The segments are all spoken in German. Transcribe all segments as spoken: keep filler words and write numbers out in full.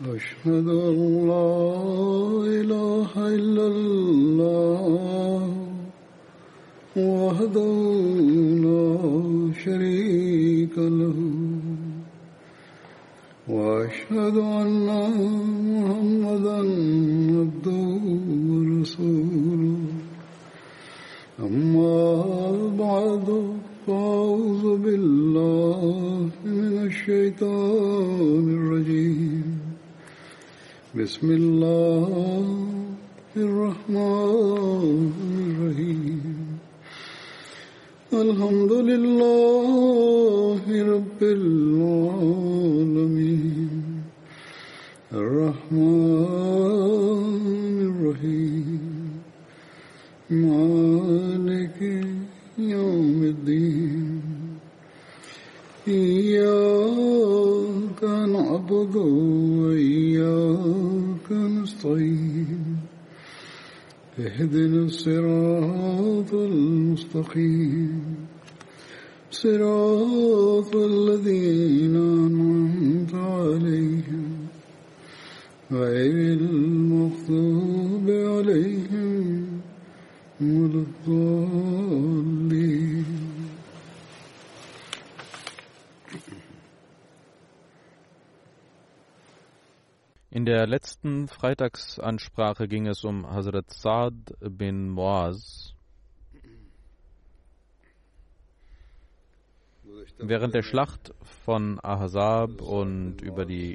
أشهد أن لا إله إلا الله وحده لا شريك له وأشهد أن محمدا عبده ورسوله أما بعد فأعوذ بالله من الشيطان الرجيم بسم الله الرحمن الرحيم الحمد لله رب العالمين الرحمن الرحيم مالك يوم الدين إياك نعبد وإياك نستعين اهدنا الصراط المستقيم صراط الذين أنعمت عليهم غير المغضوب عليهم ولا الضالين. In der letzten Freitagsansprache ging es um Hazrat Sa'd bin Muaz. Während der Schlacht von Ahzab und über die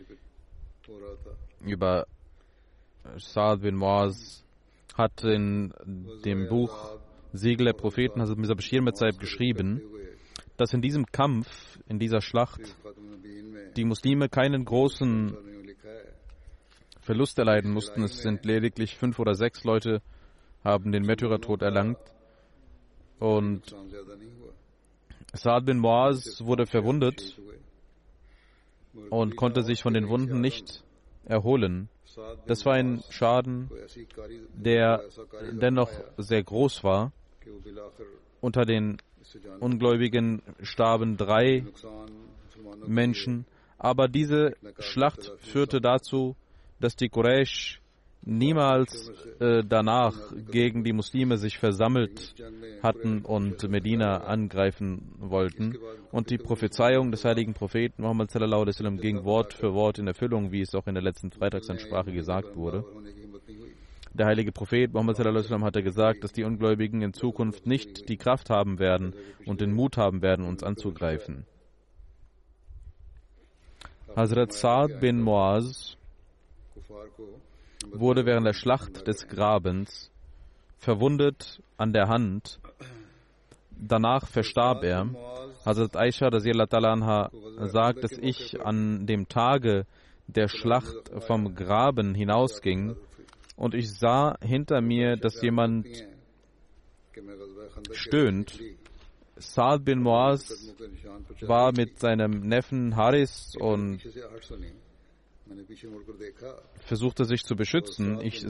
über Sa'd bin Muaz hat in dem Buch Siegel der Propheten Hazrat Mirza Bashir Mirza geschrieben, dass in diesem Kampf, in dieser Schlacht, die Muslime keinen großen Verlust erleiden mussten. Es sind lediglich fünf oder sechs Leute, haben den Märtyrertod erlangt. Und Sa'd bin Muaz wurde verwundet und konnte sich von den Wunden nicht erholen. Das war ein Schaden, der dennoch sehr groß war. Unter den Ungläubigen starben drei Menschen. Aber diese Schlacht führte dazu, dass die Quraysh niemals äh, danach gegen die Muslime sich versammelt hatten und Medina angreifen wollten. Und die Prophezeiung des heiligen Propheten Muhammad sallallahu alaihi wasallam ging Wort für Wort in Erfüllung, wie es auch in der letzten Freitagsansprache gesagt wurde. Der heilige Prophet Muhammad sallallahu alaihi wasallam hatte gesagt, dass die Ungläubigen in Zukunft nicht die Kraft haben werden und den Mut haben werden, uns anzugreifen. Hazrat Sa'd bin Muaz wurde während der Schlacht des Grabens verwundet an der Hand. Danach verstarb er. Hazrat Aisha radhiyallahu ta'ala anha sagt, dass ich an dem Tage der Schlacht vom Graben hinausging und ich sah hinter mir, dass jemand stöhnt. Sa'd bin Muaz war mit seinem Neffen Haris und versuchte sich zu beschützen. Ich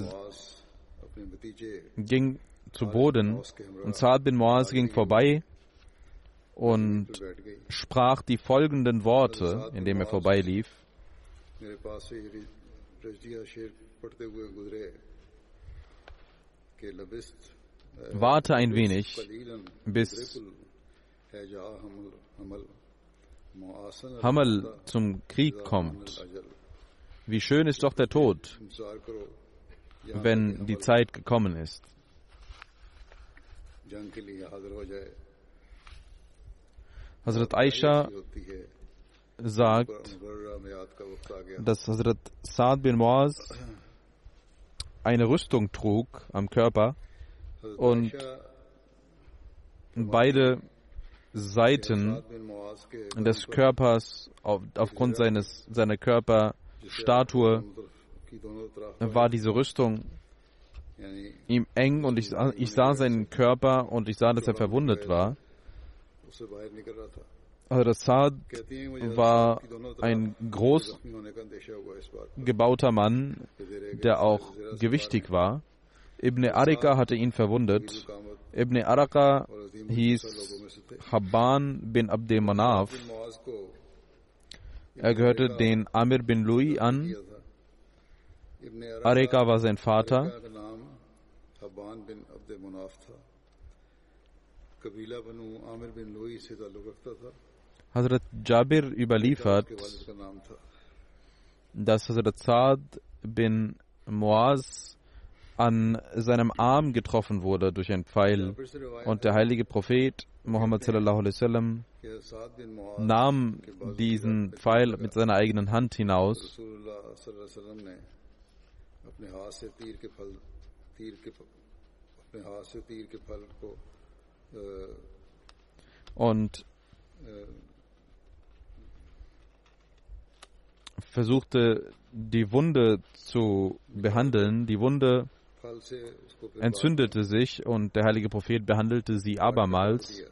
ging zu Boden und Sa'd bin Muaz ging vorbei und sprach die folgenden Worte, indem er vorbeilief. Warte ein wenig, bis Hamal zum Krieg kommt. Wie schön ist doch der Tod, wenn die Zeit gekommen ist. Hazrat Aisha sagt, dass Hazrat Sa'd bin Muaz eine Rüstung trug am Körper und beide Seiten des Körpers auf, aufgrund seines, seiner Körperstatue war diese Rüstung ihm eng und ich, ich sah seinen Körper und ich sah, dass er verwundet war. Hazrat Sa'd war ein groß gebauter Mann, der auch gewichtig war. Ibn Arika hatte ihn verwundet. Ibn Arika hieß Habban bin Abd Manaf. Er gehörte den Amir bin Lui an. Arika war sein Vater. Hazrat Jabir überliefert, dass Hazrat Saad bin Muaz an seinem Arm getroffen wurde durch einen Pfeil und der heilige Prophet Muhammad sallallahu alaihi wasallam nahm diesen Pfeil mit seiner eigenen Hand hinaus und versuchte die Wunde zu behandeln. Die Wunde entzündete sich und der heilige Prophet behandelte sie abermals.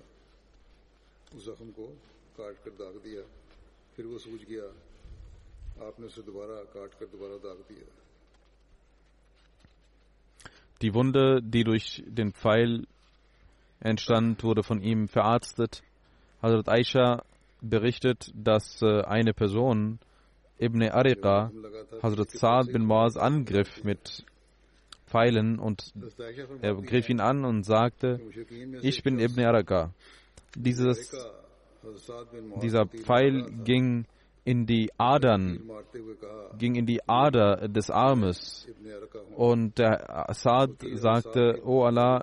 Die Wunde, die durch den Pfeil entstand, wurde von ihm verarztet. Hazrat Aisha berichtet, dass eine Person, Ibn Ariqa, Hazrat Saad bin Muaz angriff mit Pfeilen und er griff ihn an und sagte, ich bin Ibn Ariqa. Dieses, dieser Pfeil ging in die Adern, ging in die Ader des Armes und der Saad sagte, O Allah,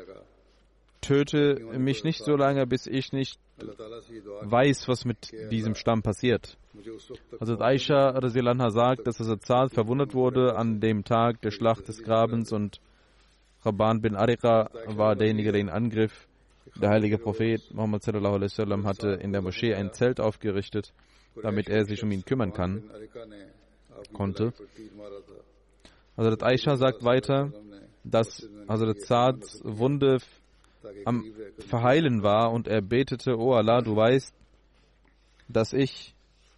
töte mich nicht so lange, bis ich nicht weiß, was mit diesem Stamm passiert. Hazrat Aisha radhiyallahu anha sagt, dass Hazrat Saad verwundet wurde an dem Tag der Schlacht des Grabens und Rabban bin Ariqa war derjenige, der ihn angriff. Der heilige Prophet Muhammad sallallahu alaihi wasallam hatte in der Moschee ein Zelt aufgerichtet, damit er sich um ihn kümmern kann, konnte. Hazrat Aisha sagt weiter, dass Hazrat Saads Wunde am Verheilen war und er betete, O Allah, du weißt, dass ich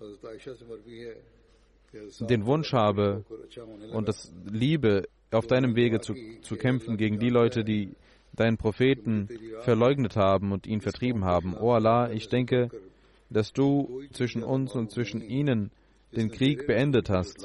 den Wunsch habe und das Liebe, auf deinem Wege zu, zu kämpfen gegen die Leute, die deinen Propheten verleugnet haben und ihn vertrieben haben. O Allah, ich denke, dass du zwischen uns und zwischen ihnen den Krieg beendet hast.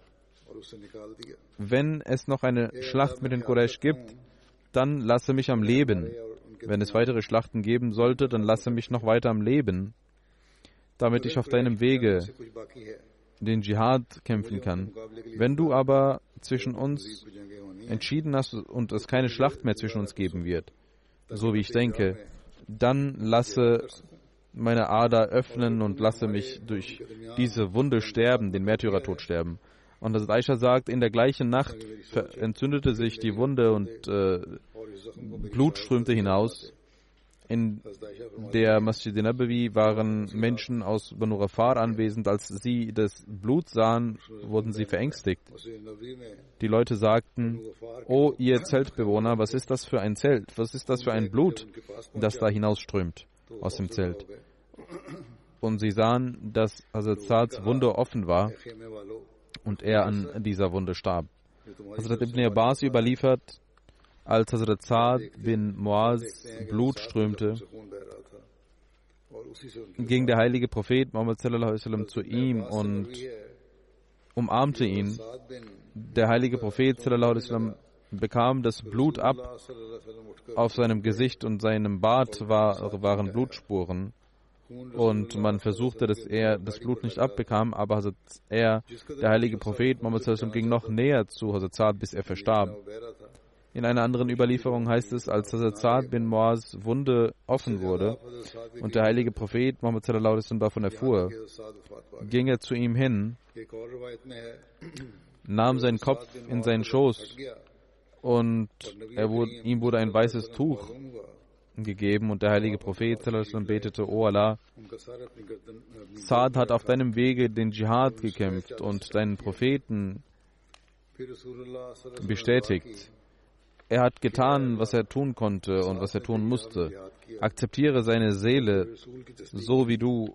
Wenn es noch eine Schlacht mit den Quraysh gibt, dann lasse mich am Leben. Wenn es weitere Schlachten geben sollte, dann lasse mich noch weiter am Leben, damit ich auf deinem Wege den Dschihad kämpfen kann. Wenn du aber zwischen uns entschieden hast und es keine Schlacht mehr zwischen uns geben wird, so wie ich denke, dann lasse meine Ader öffnen und lasse mich durch diese Wunde sterben, den Märtyrertod sterben. Und Hazrat Aisha sagt, in der gleichen Nacht entzündete sich die Wunde und äh, Blut strömte hinaus. In der Masjid Nabawi waren Menschen aus Banu Ghafar anwesend. Als sie das Blut sahen, wurden sie verängstigt. Die Leute sagten, O ihr Zeltbewohner, was ist das für ein Zelt? Was ist das für ein Blut, das da hinausströmt aus dem Zelt? Und sie sahen, dass Hazrat Saads Wunde offen war und er an dieser Wunde starb. Hazrat Ibn Abbas überliefert, als Hazrat Saad bin Muaz Blut strömte, ging der heilige Prophet Muhammad sallallahu alaihi wasallam zu ihm und umarmte ihn. Der heilige Prophet sallallahu alaihi wasallam bekam das Blut ab. Auf seinem Gesicht und seinem Bart war, waren Blutspuren. Und man versuchte, dass er das Blut nicht abbekam, aber Hazrat er, der heilige Prophet Muhammad sallallahu alaihi wasallam, ging noch näher zu Hazrat Saad, bis er verstarb. In einer anderen Überlieferung heißt es, als Hazrat Saad bin Muaz Wunde offen wurde und der heilige Prophet Muhammad sallallahu alaihi wasallam davon erfuhr, ging er zu ihm hin, nahm seinen Kopf in seinen Schoß und er wurde, ihm wurde ein weißes Tuch gegeben und der heilige Prophet sallallahu alaihi wasallam betete, O Allah, Saad hat auf deinem Wege den Dschihad gekämpft und deinen Propheten bestätigt. Er hat getan, was er tun konnte und was er tun musste. Akzeptiere seine Seele, so wie du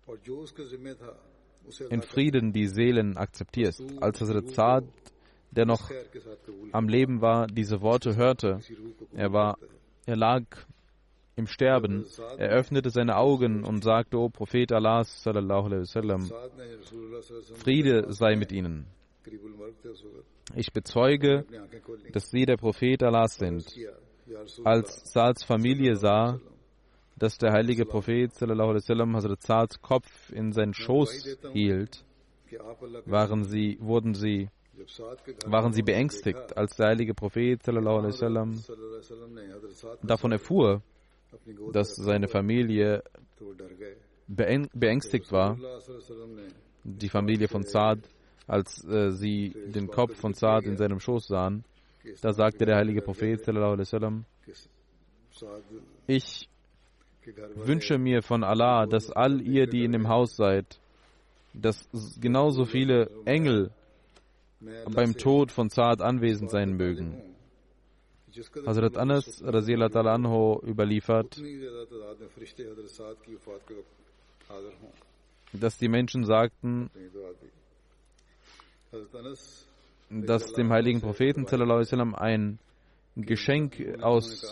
in Frieden die Seelen akzeptierst. Als Hazrat Saad, der noch am Leben war, diese Worte hörte, er war, er lag im Sterben, er öffnete seine Augen und sagte, O Prophet Allahs, sallallahu alaihi wasallam, Friede sei mit ihnen. Ich bezeuge, dass Sie der Prophet Allahs sind. Als Saads Familie sah, dass der heilige Prophet sallallahu alaihi wasallam Hazrat Saads Kopf in seinen Schoß hielt, waren sie, wurden sie, waren sie beängstigt, als der heilige Prophet sallallahu alaihi wasallam davon erfuhr, dass seine Familie beängstigt war, die Familie von Saad, als äh, sie den Kopf von Saad in seinem Schoß sahen. Da sagte der heilige Prophet sallallahu alaihi wasallam, ich wünsche mir von Allah, dass all ihr, die in dem Haus seid, dass genauso viele Engel beim Tod von Saad anwesend sein mögen. Hazrat Anas radhiyallahu ta'ala anhu überliefert, dass die Menschen sagten, dass dem heiligen Propheten sallallahu alaihi wasallam ein Geschenk aus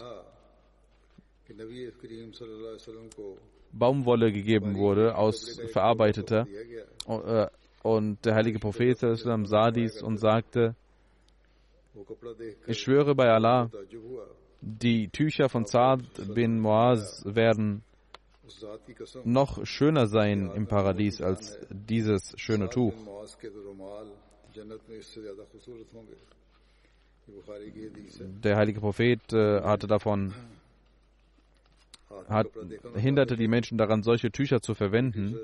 Baumwolle gegeben wurde, aus verarbeiteter. Und der heilige Prophet sallallahu alaihi wasallam sah dies und sagte, ich schwöre bei Allah, die Tücher von Saad bin Muaz werden noch schöner sein im Paradies als dieses schöne Tuch. Der heilige Prophet äh, hatte davon, hat, hinderte die Menschen daran, solche Tücher zu verwenden.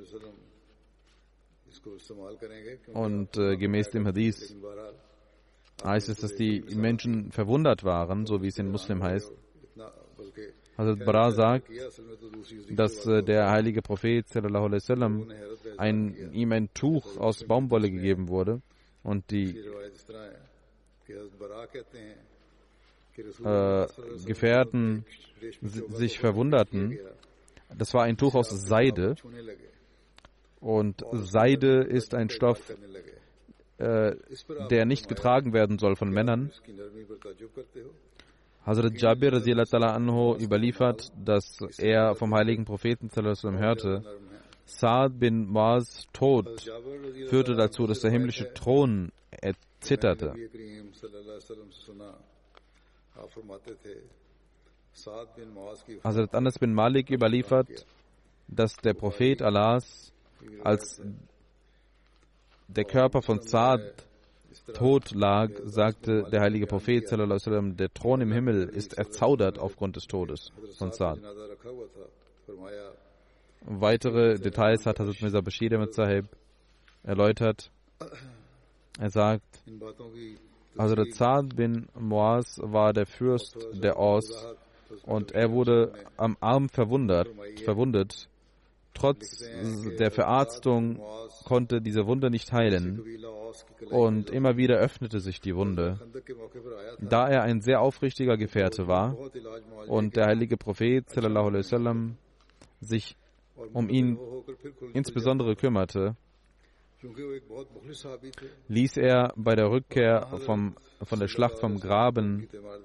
Und äh, gemäß dem Hadith heißt es, dass die Menschen verwundert waren, so wie es in Muslim heißt. Hazrat Bara sagt, dass äh, der heilige Prophet sallallahu alaihi wasallam ein, ihm ein Tuch aus Baumwolle gegeben wurde und die äh, Gefährten sich verwunderten. Das war ein Tuch aus Seide und Seide ist ein Stoff, äh, der nicht getragen werden soll von Männern. Hazrat Jabir radhiyallahu ta'ala anhu überliefert, dass er vom heiligen Propheten sallallahu alaihi wasallam hörte, Saad bin Muaz Tod führte dazu, dass der himmlische Thron erzitterte. Hazrat Anas bin Malik überliefert, dass der Prophet Allahs, als der Körper von Saad tot lag, sagte der heilige Prophet sallallahu alaihi wasallam, der Thron im Himmel ist erzaudert aufgrund des Todes von Saad. Weitere Details hat Hazrat Mirza Bashir Ahmad Sahib erläutert. Er sagt, Hazrat Saad bin Muaz war der Fürst der Aus und er wurde am Arm verwundet, verwundet. Trotz der Verarztung konnte diese Wunde nicht heilen und immer wieder öffnete sich die Wunde. Da er ein sehr aufrichtiger Gefährte war und der heilige Prophet sallallahu alaihi wasallam sich um ihn insbesondere kümmerte, ließ er bei der Rückkehr vom, von der Schlacht vom Graben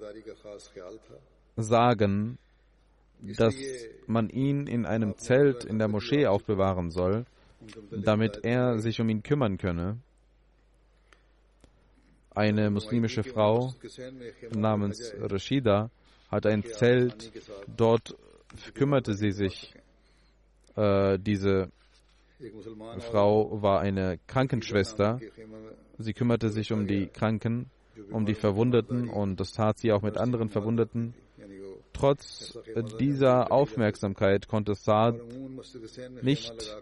sagen, dass man ihn in einem Zelt in der Moschee aufbewahren soll, damit er sich um ihn kümmern könne. Eine muslimische Frau namens Rashida hat ein Zelt, dort kümmerte sie sich. Äh, diese Frau war eine Krankenschwester. Sie kümmerte sich um die Kranken, um die Verwundeten und das tat sie auch mit anderen Verwundeten. Trotz dieser Aufmerksamkeit konnte Saad nicht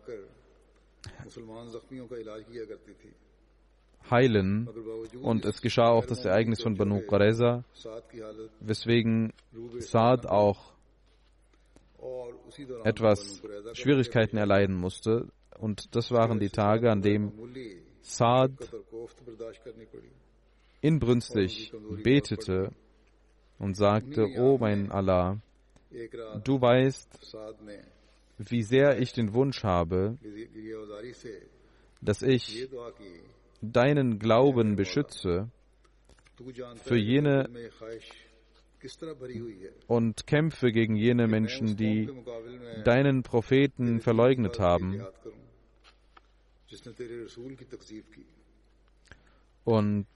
heilen und es geschah auch das Ereignis von Banu Qurayza, weswegen Saad auch etwas Schwierigkeiten erleiden musste. Und das waren die Tage, an denen Saad inbrünstig betete und sagte, O mein Allah, du weißt, wie sehr ich den Wunsch habe, dass ich deinen Glauben beschütze für jene und kämpfe gegen jene Menschen, die deinen Propheten verleugnet haben. Und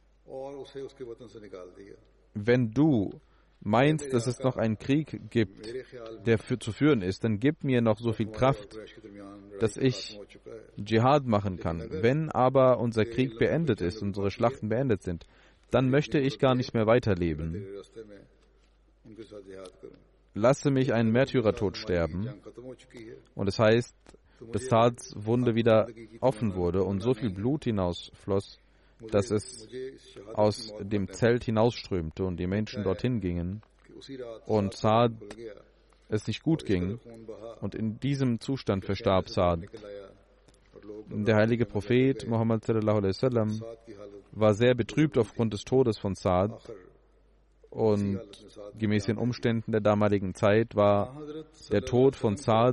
wenn du meinst, dass es noch einen Krieg gibt, der für, zu führen ist, dann gib mir noch so viel Kraft, dass ich Dschihad machen kann. Wenn aber unser Krieg beendet ist, unsere Schlachten beendet sind, dann möchte ich gar nicht mehr weiterleben. Lasse mich einen Märtyrertod sterben. Und es heißt, dass Saads Wunde wieder offen wurde und so viel Blut hinausfloss, dass es aus dem Zelt hinausströmte und die Menschen dorthin gingen und Saad es nicht gut ging. Und in diesem Zustand verstarb Saad. Der heilige Prophet Muhammad sallallahu alaihi wasallam war sehr betrübt aufgrund des Todes von Saad. Und gemäß den Umständen der damaligen Zeit war der Tod von Saad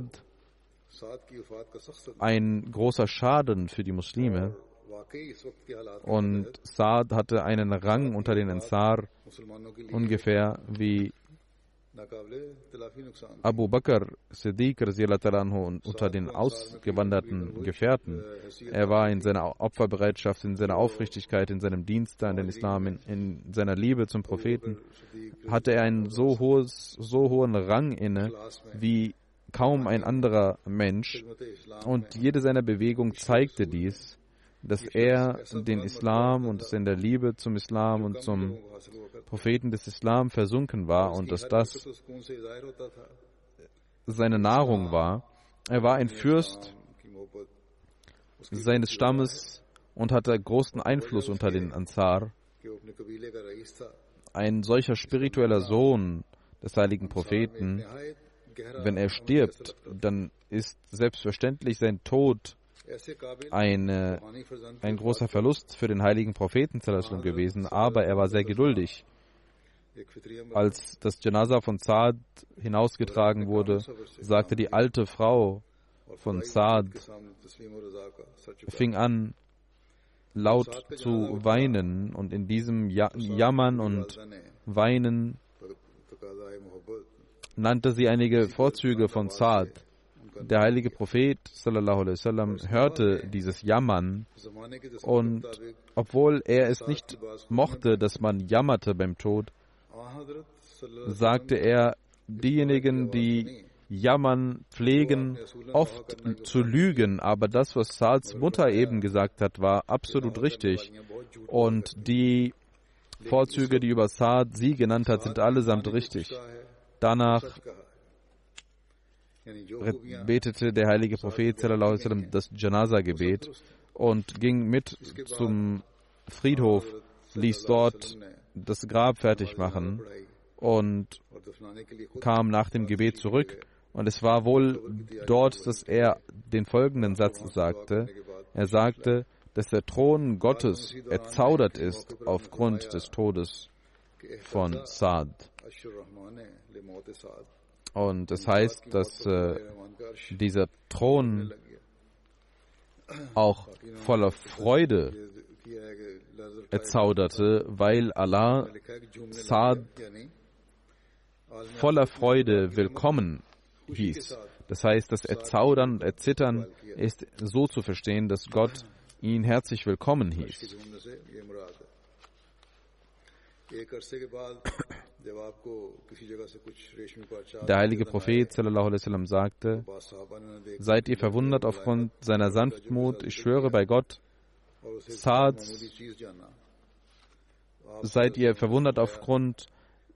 ein großer Schaden für die Muslime. Und Saad hatte einen Rang unter den Ansar, ungefähr wie Abu Bakr Siddiq unter den ausgewanderten Gefährten. Er war in seiner Opferbereitschaft, in seiner Aufrichtigkeit, in seinem Dienst an den Islam, in, in seiner Liebe zum Propheten, hatte er einen so, hohes, so hohen Rang inne wie kaum ein anderer Mensch. Und jede seiner Bewegungen zeigte dies, dass er den Islam und dass er in der Liebe zum Islam und zum Propheten des Islam versunken war und dass das seine Nahrung war. Er war ein Fürst seines Stammes und hatte großen Einfluss unter den Ansar. Ein solcher spiritueller Sohn des heiligen Propheten, wenn er stirbt, dann ist selbstverständlich sein Tod Eine, ein großer Verlust für den heiligen Propheten gewesen, aber er war sehr geduldig. Als das Janaza von Saad hinausgetragen wurde, sagte die alte Frau von Saad, fing an, laut zu weinen, und in diesem ja- Jammern und Weinen nannte sie einige Vorzüge von Saad. Der heilige Prophet sallallahu alaihi wasallam hörte dieses Jammern, und obwohl er es nicht mochte, dass man jammerte beim Tod, sagte er, diejenigen, die jammern, pflegen oft zu lügen, aber das, was Saads Mutter eben gesagt hat, war absolut richtig. Und die Vorzüge, die über Saad sie genannt hat, sind allesamt richtig. Danach betete der heilige Prophet sallallahu alaihi wasallam das Janaza-Gebet und ging mit zum Friedhof, ließ dort das Grab fertig machen und kam nach dem Gebet zurück. Und es war wohl dort, dass er den folgenden Satz sagte. Er sagte, dass der Thron Gottes erzaudert ist aufgrund des Todes von Saad. Und das heißt, dass äh, dieser Thron auch voller Freude erzauderte, weil Allah Saad voller Freude willkommen hieß. Das heißt, das Erzaudern und Erzittern ist so zu verstehen, dass Gott ihn herzlich willkommen hieß. Der heilige Prophet sallallahu alaihi wasallam sagte, seid ihr verwundert aufgrund seiner Sanftmut? Ich schwöre bei Gott, Saads, seid ihr verwundert aufgrund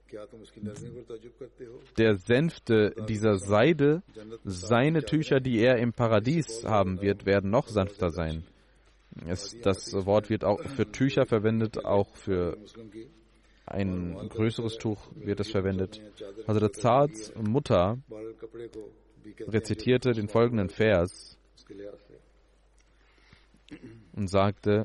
der Sänfte dieser Seide? Seine Tücher, die er im Paradies haben wird, werden noch sanfter sein. Es, das Wort wird auch für Tücher verwendet, auch für ein größeres Tuch wird es verwendet. Hazrat Saads Mutter rezitierte den folgenden Vers und sagte,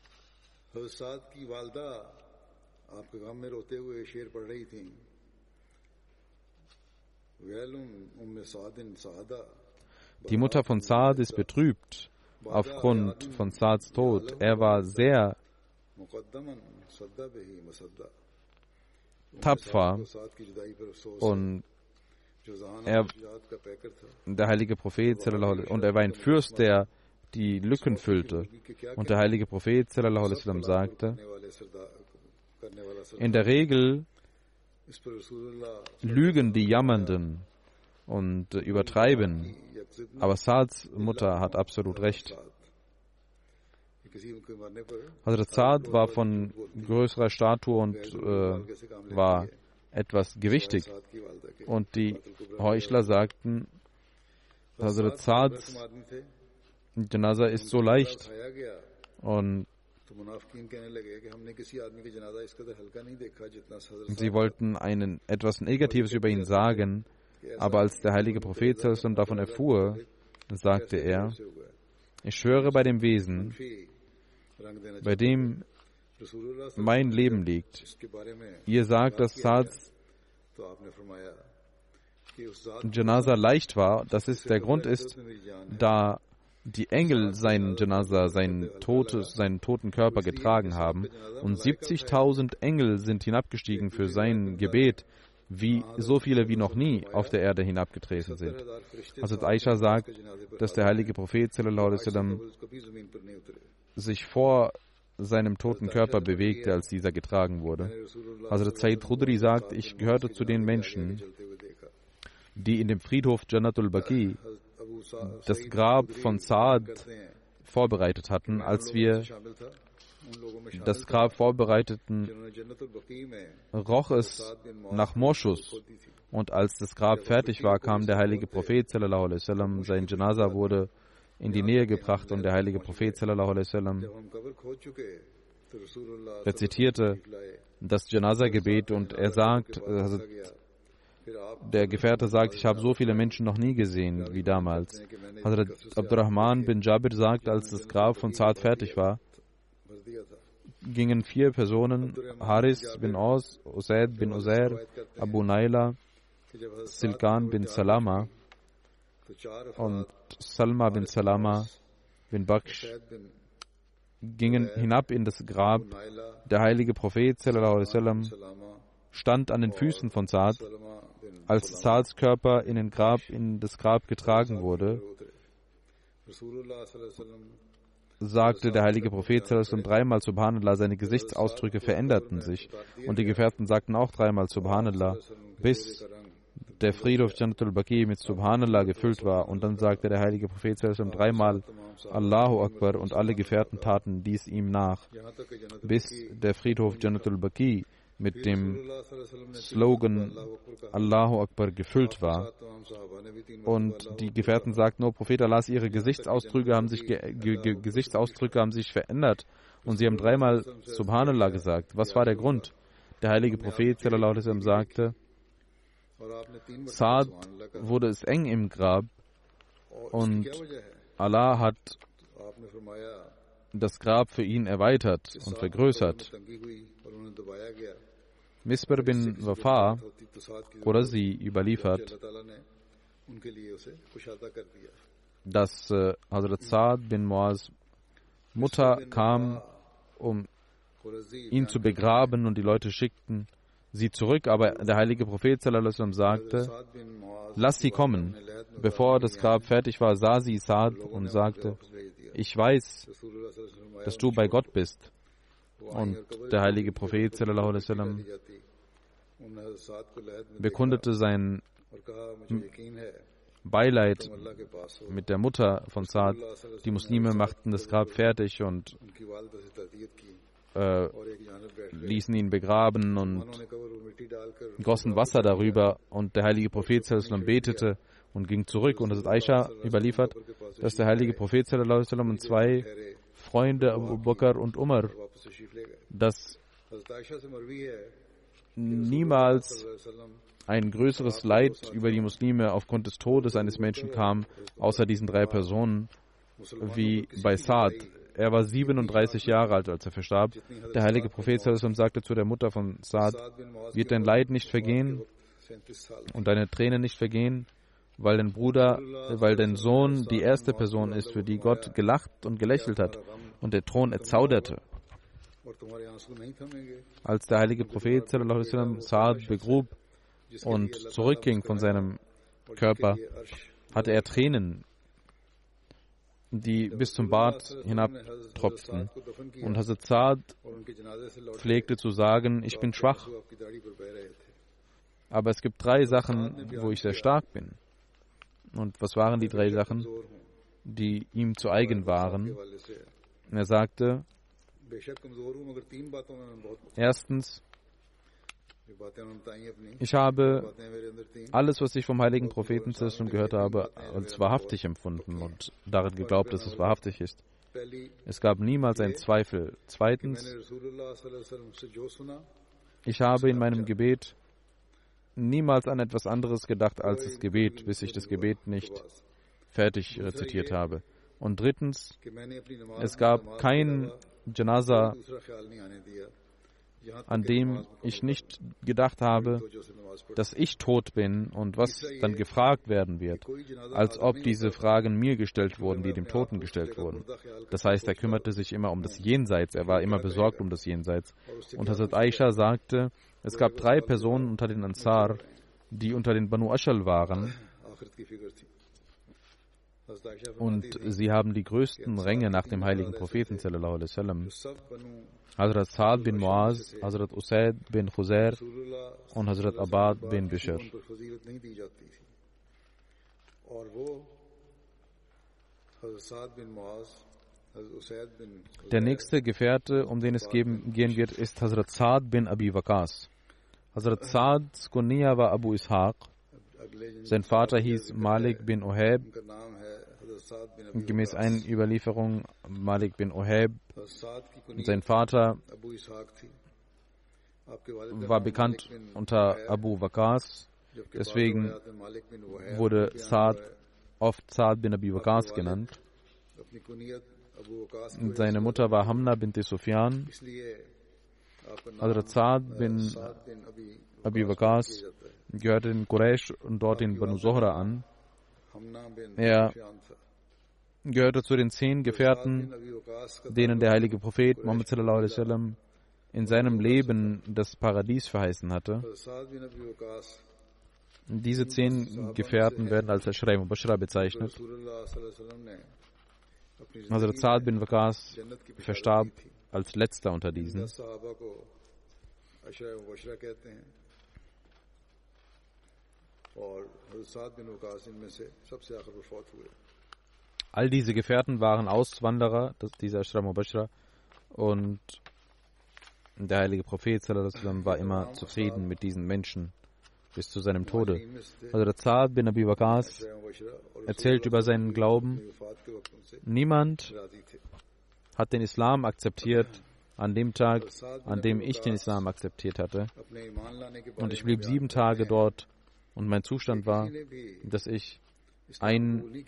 die Mutter von Saad ist betrübt aufgrund von Saads Tod. Er war sehr tapfer und er, der heilige Prophet, und er war ein Fürst, der die Lücken füllte. Und der heilige Prophet sagte, in der Regel lügen die Jammernden und übertreiben, aber Saads Mutter hat absolut recht. Hazrat Saad war von größerer Statur und äh, war etwas gewichtig. Und die Heuchler sagten, Hazrat Saads Janaza ist so leicht. Und sie wollten einen, etwas Negatives über ihn sagen, aber als der heilige Prophet davon erfuhr, sagte er, ich schwöre bei dem Wesen, bei dem mein Leben liegt. Ihr sagt, dass Saads Janaza leicht war. Das ist, der Grund ist, da die Engel seinen Janaza, seinen, totes, seinen toten Körper getragen haben und siebzigtausend Engel sind hinabgestiegen für sein Gebet, wie so viele wie noch nie auf der Erde hinabgetreten sind. Also Aisha sagt, dass der heilige Prophet sallallahu alaihi wasallam sich vor seinem toten Körper bewegte, als dieser getragen wurde. Hazrat Sayyid Khudri sagt, ich gehörte zu den Menschen, die in dem Friedhof Jannatul Baqi das Grab von Saad vorbereitet hatten. Als wir das Grab vorbereiteten, roch es nach Moschus. Und als das Grab fertig war, kam der heilige Prophet sallallahu alaihi wasallam, sein Janaza wurde in die Nähe gebracht und der heilige Prophet sallallahu alaihi wasallam rezitierte das Janaza-Gebet und er sagt, also der Gefährte sagt, ich habe so viele Menschen noch nie gesehen wie damals. Hazrat Abdurrahman bin Jabir sagt, als das Grab von Saad fertig war, gingen vier Personen, Haris bin Aus, Usaid bin Uzair, Abu Naila, Silkan bin Salama und Salma bin Salama bin Baksh, gingen hinab in das Grab. Der heilige Prophet sallallahu alaihi wasallam stand an den Füßen von Saad. Als Saads Körper in, den Grab, in das Grab getragen wurde, sagte der heilige Prophet sallallahu alaihi wasallam dreimal Subhanallah, seine Gesichtsausdrücke veränderten sich und die Gefährten sagten auch dreimal Subhanallah, bis der Friedhof Jannatul Baqi mit Subhanallah gefüllt war. Und dann sagte der heilige Prophet sallallahu alaihi wasallam dreimal Allahu Akbar und alle Gefährten taten dies ihm nach, bis der Friedhof Jannatul Baqi mit dem Slogan Allahu Akbar gefüllt war. Und die Gefährten sagten, oh Prophet Allahs, ihre Gesichtsausdrücke haben sich, ge ge Gesichtsausdrücke haben sich verändert und sie haben dreimal Subhanallah gesagt. Was war der Grund? Der heilige Prophet sallallahu alaihi wasallam sagte, Saad wurde es eng im Grab und Allah hat das Grab für ihn erweitert und vergrößert. Misbar bin Wafa Qurazi überliefert, dass äh, Hazrat Saad bin Muaz Mutter kam, um ihn zu begraben und die Leute schickten sie zurück, aber der heilige Prophet sallallahu alaihi wasallam sagte, lass sie kommen. Bevor das Grab fertig war, sah sie Saad und sagte, ich weiß, dass du bei Gott bist. Und der heilige Prophet sallallahu alaihi wasallam bekundete sein Beileid mit der Mutter von Saad. Die Muslime machten das Grab fertig und äh, ließen ihn begraben und gossen Wasser darüber. Und der heilige Prophet sallallahu alaihi wasallam betete und ging zurück. Und es ist Aisha überliefert, dass der heilige Prophet sallallahu alaihi wasallam und zwei Freunde, Abu Bakr und Umar, dass niemals ein größeres Leid über die Muslime aufgrund des Todes eines Menschen kam, außer diesen drei Personen, wie bei Saad. Er war siebenunddreißig Jahre alt, als er verstarb. Der heilige Prophet sagte zu der Mutter von Saad, wird dein Leid nicht vergehen und deine Tränen nicht vergehen, weil dein Bruder, weil dein Sohn die erste Person ist, für die Gott gelacht und gelächelt hat und der Thron erzauderte. Als der heilige Prophet sallallahu alaihi wasallam Saad begrub und zurückging von seinem Körper, hatte er Tränen, die bis zum Bart hinabtropften. Und Hazrat Saad pflegte zu sagen, ich bin schwach, aber es gibt drei Sachen, wo ich sehr stark bin. Und was waren die drei Sachen, die ihm zu eigen waren? Er sagte, erstens, ich habe alles, was ich vom heiligen Propheten gehört habe, als wahrhaftig empfunden und darin geglaubt, dass es wahrhaftig ist. Es gab niemals einen Zweifel. Zweitens, ich habe in meinem Gebet niemals an etwas anderes gedacht als das Gebet, bis ich das Gebet nicht fertig rezitiert habe. Und drittens, es gab kein Janaza, an dem ich nicht gedacht habe, dass ich tot bin und was dann gefragt werden wird, als ob diese Fragen mir gestellt wurden, die dem Toten gestellt wurden. Das heißt, er kümmerte sich immer um das Jenseits, er war immer besorgt um das Jenseits. Und Hazrat Aisha sagte, es gab drei Personen unter den Ansar, die unter den Banu Ashal waren, und sie haben die größten Ränge nach dem heiligen Propheten sallallahu alaihi wasallam. Hazrat Saad bin Muaz, Hazrat Usaid bin Khuzair und Hazrat Abad bin Bishr. Der nächste Gefährte, um den es geben, gehen wird, ist Hazrat Saad bin Abi Waqas. Hazrat Saads Kunya war Abu Ishaq. Sein Vater hieß Malik bin Oheb. Gemäß einer Überlieferung Malik bin Oheb. Sein Vater war bekannt unter Abu Waqas. Deswegen wurde Saad oft Saad bin Abi Waqas genannt. Seine Mutter war Hamna bint Sufyan. Hazrat Saad bin Abi Waqas gehörte den Quraysh und dort den Banu Zuhra an. Er gehörte zu den zehn Gefährten, denen der heilige Prophet Muhammad sallallahu alaihi wasallam in seinem Leben das Paradies verheißen hatte. Diese zehn Gefährten werden als Ashra Mubashara bezeichnet. Hazrat Saad bin Waqas verstarb als letzter unter diesen. All diese Gefährten waren Auswanderer, das, dieser Ashra Mubashara, und der heilige Prophet sallallahu alaihi wasallam war immer zufrieden mit diesen Menschen bis zu seinem Tode. Hazrat Saad bin Abi Waqas erzählt über seinen Glauben. Niemand hat den Islam akzeptiert an dem Tag, an dem ich den Islam akzeptiert hatte. Und ich blieb sieben Tage dort und mein Zustand war, dass ich ein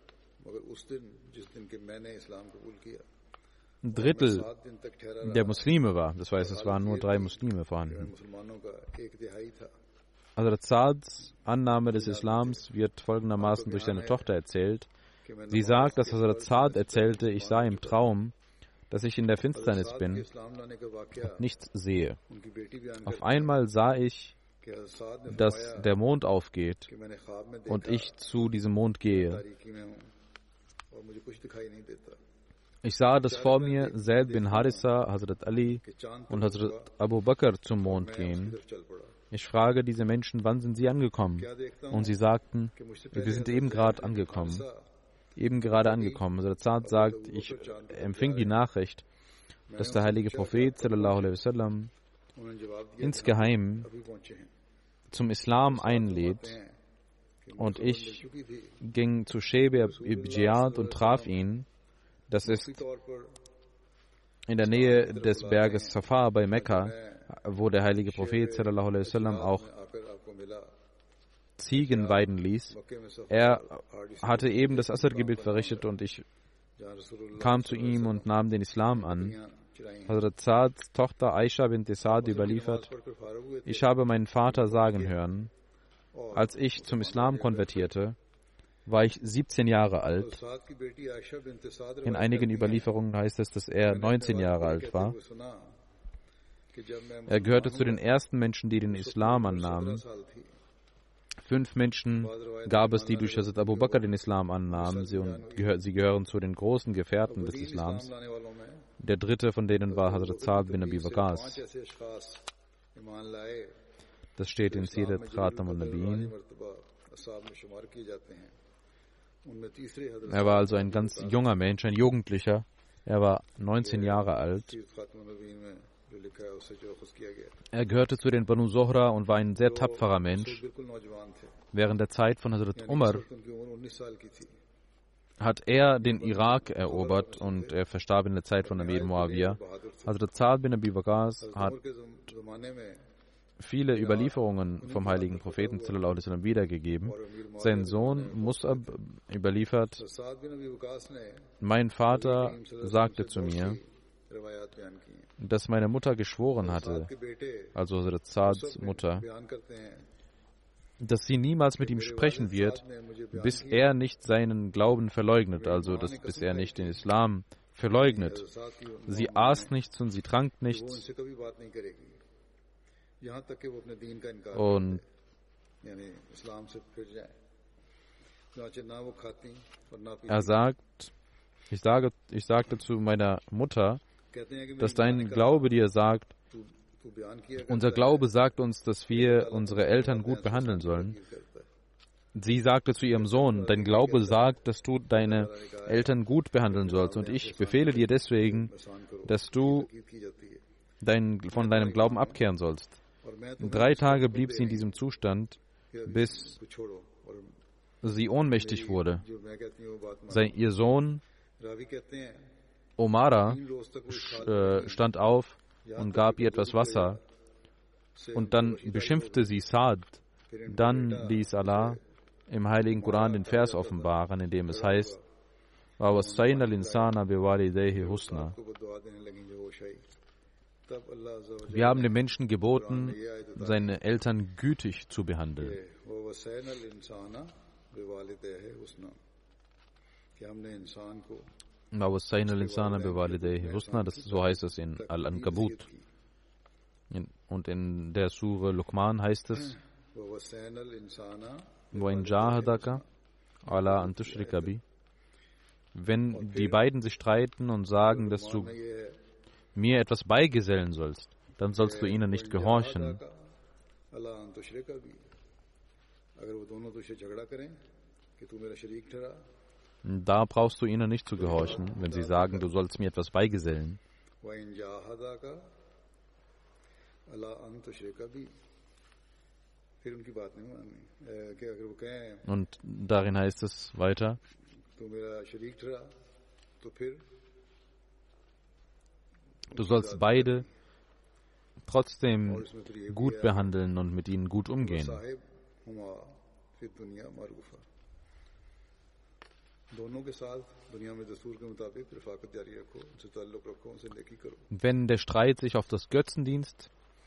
Drittel der Muslime war. Das heißt, es waren nur drei Muslime vorhanden. Hazrat Saads Annahme des Islams wird folgendermaßen durch seine Tochter erzählt. Sie sagt, dass Hazrat Saad erzählte, ich sah im Traum, dass ich in der Finsternis bin und nichts sehe. Auf einmal sah ich, dass der Mond aufgeht und ich zu diesem Mond gehe. Ich sah, dass vor mir Zaid bin Harissa, Hazrat Ali und Hazrat Abu Bakr zum Mond gehen. Ich frage diese Menschen, wann sind sie angekommen? Und sie sagten, wir sind eben gerade angekommen. Eben gerade angekommen. Hazrat Saad sagt, ich empfing die Nachricht, dass der heilige Prophet sallallahu alaihi wasallam insgeheim zum Islam einlädt. Und ich ging zu Shebe ibn Jiyad und traf ihn. Das ist in der Nähe des Berges Safa bei Mekka, wo der heilige Prophet sallallahu alaihi wasallam auch Ziegen weiden ließ. Er hatte eben das Asr-Gebet verrichtet und ich kam zu ihm und nahm den Islam an. Hazrat Saads Tochter Aisha bint Saad überliefert, ich habe meinen Vater sagen hören, als ich zum Islam konvertierte, war ich siebzehn Jahre alt. In einigen Überlieferungen heißt es, dass er neunzehn Jahre alt war. Er gehörte zu den ersten Menschen, die den Islam annahmen. Fünf Menschen gab es, die durch Hazrat Abu Bakr den Islam annahmen. Sie, gehör, sie gehören zu den großen Gefährten des Islams. Der dritte von denen war Hazrat Sa'd bin Abi Waqqas. Das steht in Sirat Khatam al-Nabiyyin. Er war also ein ganz junger Mensch, ein Jugendlicher. Er war neunzehn Jahre alt. Er gehörte zu den Banu Zohra und war ein sehr tapferer Mensch. Während der Zeit von Hazrat Umar hat er den Irak erobert und er verstarb in der Zeit von Amir Muawiyah. Hazrat Sa'd bin Abi Waqqas hat viele Überlieferungen vom heiligen Propheten sallallahu alaihi wasallam wiedergegeben. Sein Sohn Mus'ab überliefert: Mein Vater sagte zu mir, dass meine Mutter geschworen hatte, also Hazrat Sa'ds Mutter, dass sie niemals mit ihm sprechen wird, bis er nicht seinen Glauben verleugnet, also dass, bis er nicht den Islam verleugnet. Sie aß nichts und sie trank nichts. Und er sagt, ich, sage, ich sagte zu meiner Mutter, dass dein Glaube dir sagt, unser Glaube sagt uns, dass wir unsere Eltern gut behandeln sollen. Sie sagte zu ihrem Sohn, dein Glaube sagt, dass du deine Eltern gut behandeln sollst. Und ich befehle dir deswegen, dass du dein, von deinem Glauben abkehren sollst. Drei Tage blieb sie in diesem Zustand, bis sie ohnmächtig wurde. Sein, ihr Sohn Omara äh, stand auf und gab ihr etwas Wasser. Und dann beschimpfte sie Sa'd. Dann ließ Allah im heiligen Koran den Vers offenbaren, in dem es heißt, وَوَصَّيْنَا الْإِنسَانَ بِوَالِدَيْهِ حُسْنًا. Wir haben dem Menschen geboten, seine Eltern gütig zu behandeln. Das, so heißt es in Al-Ankabut. Und in der Sure Luqman heißt es, وَإِنْ جَاهَدَكَ عَلَىٰ أَن تُشْرِكَ بِي. Wenn die beiden sich streiten und sagen, dass du mir etwas beigesellen sollst, dann sollst du ihnen nicht gehorchen. Da brauchst du ihnen nicht zu gehorchen, wenn sie sagen, du sollst mir etwas beigesellen. Und darin heißt es weiter, du sollst beide trotzdem gut behandeln und mit ihnen gut umgehen. Wenn der Streit sich auf das Götzendienst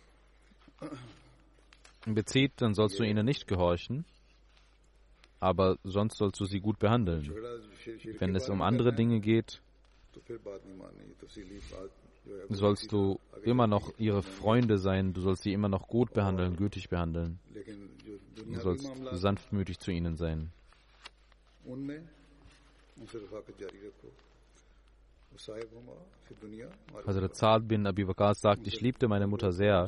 bezieht, dann sollst du ihnen nicht gehorchen, aber sonst sollst du sie gut behandeln. Wenn es um andere Dinge geht, sollst du immer noch ihre Freunde sein, du sollst sie immer noch gut behandeln, gütig behandeln. Du sollst sanftmütig zu ihnen sein. Hazrat Sa'd bin Abi Waqqas sagt, ich liebte meine Mutter sehr.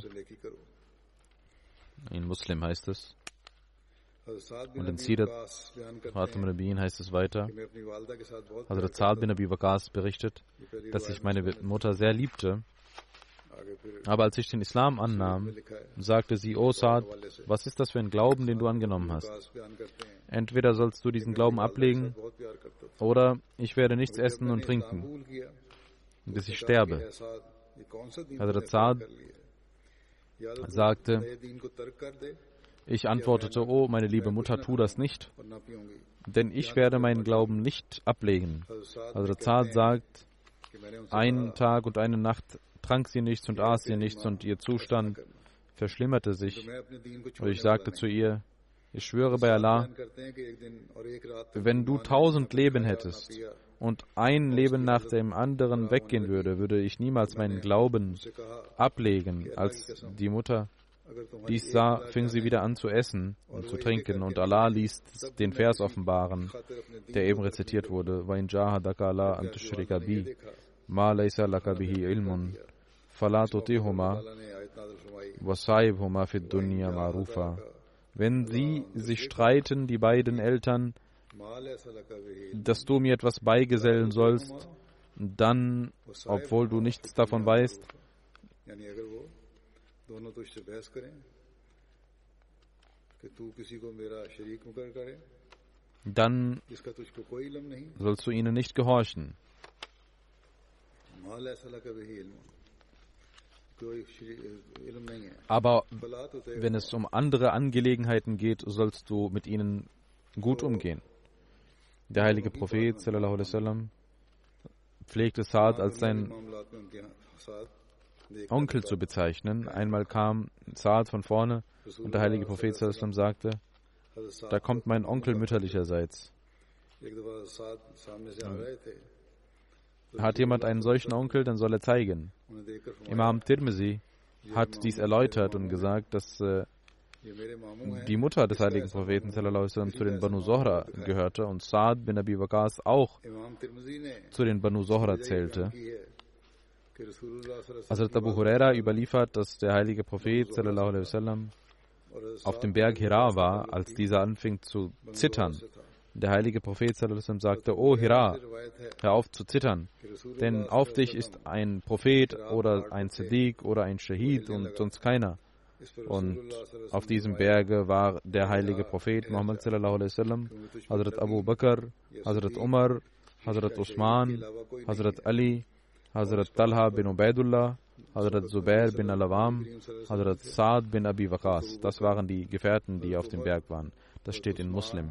In Muslim heißt es. Und in Sirat Khatam al-Nabiyyin heißt es weiter. Hazrat Sa'd bin Abi Waqqas berichtet, dass ich meine Mutter sehr liebte. Aber als ich den Islam annahm, sagte sie, O Sa'd, was ist das für ein Glauben, den du angenommen hast? Entweder sollst du diesen Glauben ablegen, oder ich werde nichts essen und trinken, bis ich sterbe. Hazrat Sa'd sagte, ich antwortete, oh, meine liebe Mutter, tu das nicht, denn ich werde meinen Glauben nicht ablegen. Hazrat Sa'd sagt, einen Tag und eine Nacht trank sie nichts und aß sie nichts und ihr Zustand verschlimmerte sich. Und ich sagte zu ihr, Ich schwöre bei Allah, wenn du tausend Leben hättest und ein Leben nach dem anderen weggehen würde, würde ich niemals meinen Glauben ablegen. Als die Mutter dies sah, fing sie wieder an zu essen und zu trinken, und Allah ließ den Vers offenbaren, der eben rezitiert wurde: وَإِنْ جَاهَدَكَ عَلَىٰ أَنْ تُشْرِكَ بِي مَا لَيْسَ لَكَ بِهِ عِلْمٌ فَلَا تُطِعْهُمَا وَصَاحِبْهُمَا فِي الدُّنْيَا مَعْرُوفًا. Wenn sie sich streiten, die beiden Eltern, dass du mir etwas beigesellen sollst, dann, obwohl du nichts davon weißt, dann sollst du ihnen nicht gehorchen. Aber wenn es um andere Angelegenheiten geht, sollst du mit ihnen gut umgehen. Der heilige Prophet sallallahu alaihi wasallam pflegte Saad als sein Onkel zu bezeichnen. Einmal kam Saad von vorne und der heilige Prophet sallallahu alaihi wasallam sagte: Da kommt mein Onkel mütterlicherseits. Hat jemand einen solchen Onkel, dann soll er zeigen. Imam Tirmizi hat dies erläutert und gesagt, dass äh, die Mutter des heiligen Propheten sallallahu alaihi wasallam zu den Banu Zohra gehörte und Saad bin Abi Waqas auch zu den Banu Zohra zählte. Hazrat Abu Huraira überliefert, dass der heilige Prophet sallallahu alaihi wasallam auf dem Berg Hira war, als dieser anfing zu zittern. Der heilige Prophet sallallahu alaihi wasallam sagte: O Hira, hör auf zu zittern, denn auf dich ist ein Prophet oder ein Siddiq oder ein Shahid und sonst keiner. Und auf diesem Berge war der heilige Prophet Muhammad sallallahu alaihi wasallam, Hazrat Abu Bakr, Hazrat Umar, Hazrat Usman, Hazrat Ali, Hazrat Talha bin Ubaidullah, Hazrat Zubair bin Al-Awam, Hazrat Saad bin Abi Waqas. Das waren die Gefährten, die auf dem Berg waren. Das steht in Muslim.